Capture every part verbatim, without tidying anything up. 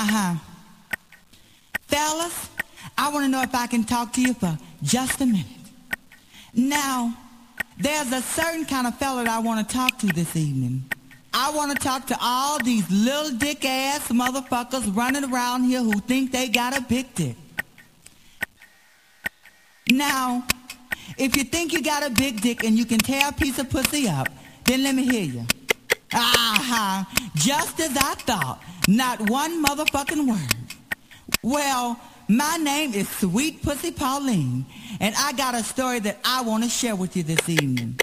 Uh-huh. Fellas, I want to know if I can talk to you for just a minute. Now, there's a certain kind of fella that I want to talk to this evening. I want to talk to all these little dick-ass motherfuckers running around here who think they got a big dick. Now, if you think you got a big dick and you can tear a piece of pussy up, then let me hear you. Uh-huh. Just as I thought. Not one motherfucking word. Well, my name is Sweet Pussy Pauline, and I got a story that I want to share with you this evening.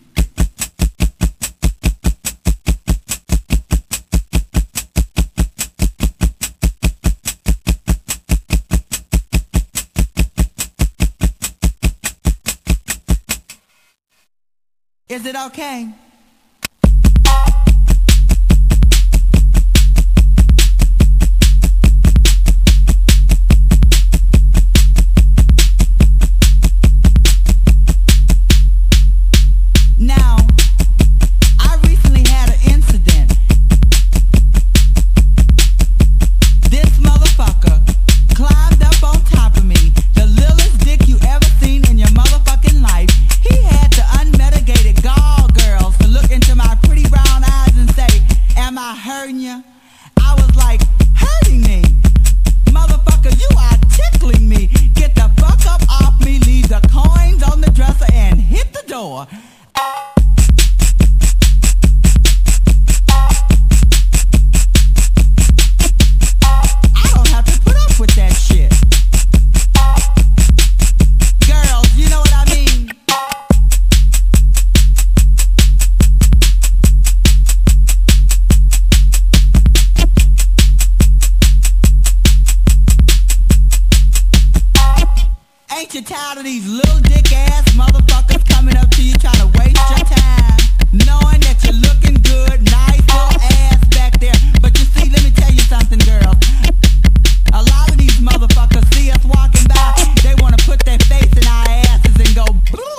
Is it okay? Now, I recently had an incident. This motherfucker climbed up on top of me, the littlest dick you ever seen in your motherfucking life. He had the unmitigated gall girls to look into my pretty brown eyes and say, am I hurting you? I was like, hurting me? Motherfucker, you are tickling me. Get the fuck up off me, leave the coins on the dresser and hit the door. I don't have to put up with that shit. Girls, you know what I mean? Ain't you tired of these little dick ass motherfuckers coming up to you trying to waste your time, knowing that you're looking good, nice little ass back there? But you see, let me tell you something, girl. A lot of these motherfuckers see us walking by, they want to put their face in our asses and go,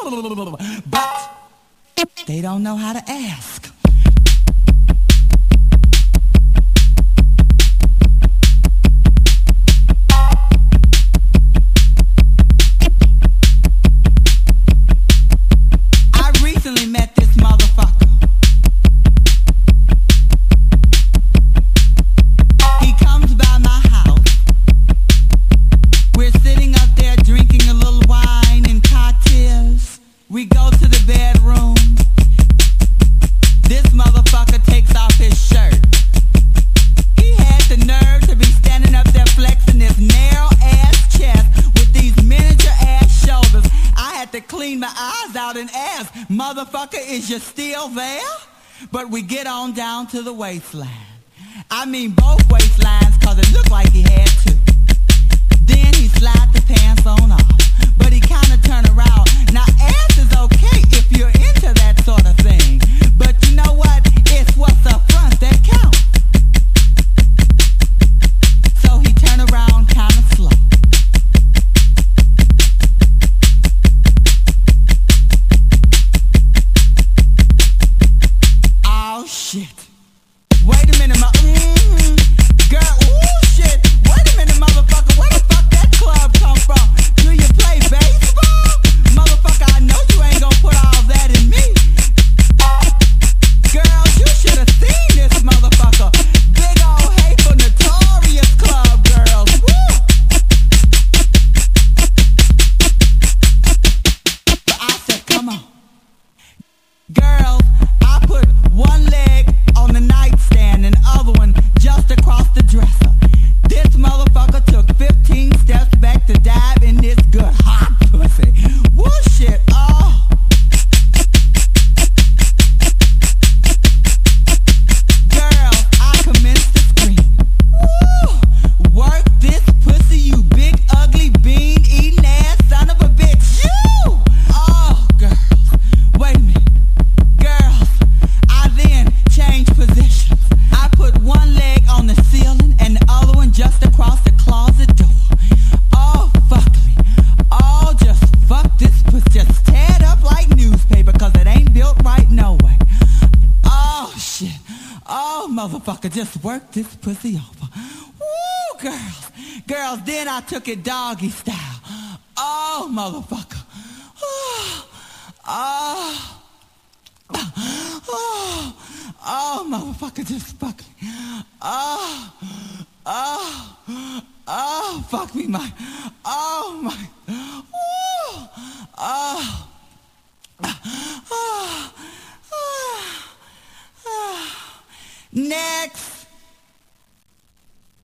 but they don't know how to ask. Met this motherfucker. He comes by my house. We're sitting up there drinking a little wine and cocktails. We go to the bedroom. This motherfucker takes off his shirt. He had the nerve to be standing up there flexing his narrow ass chest with these miniature ass shoulders. I had to clean my eyes out and ask, motherfucker, is you still there? But we get on down to the waistline. I mean both waistlines, cause it looked like he had two. Then he slide the pants on off, but he kinda turn around. Now ass is okay if you're into that sort of thing, but you know what? It's what's up front that counts. So he turn around kinda slow. Oh shit. Wait a minute, my mm-hmm. Girl, ooh shit. Wait a minute, motherfucker. Where the fuck that club come from? Do you play baseball? Motherfucker, I know you ain't gonna put all that in me. Girl, you should have seen this motherfucker. Big old hateful notorious club girls. Woo! But I said, come on. Girls, I put one leg on the nightstand and the other one just across the dresser. This motherfucker took fifteen steps back to dive in this good hot pussy. Woo shit, oh. Girl, I commenced to scream. Woo! Work this pussy, you big ugly bean eating ass son of a bitch. You! Oh, girls, wait a minute. Girls, I then changed positions. I put one leg on the ceiling and the other one just across the closet door. Oh, fuck me. Oh, just fuck this pussy. Just tear it up like newspaper, cause it ain't built right no way. Oh, shit. Oh, motherfucker, just work this pussy over. Woo, girls. Girls, then I took it doggy style. Oh, motherfucker. Oh, oh, oh, oh, motherfucker, just fuck me. Oh, oh, oh, fuck me, my, oh, my.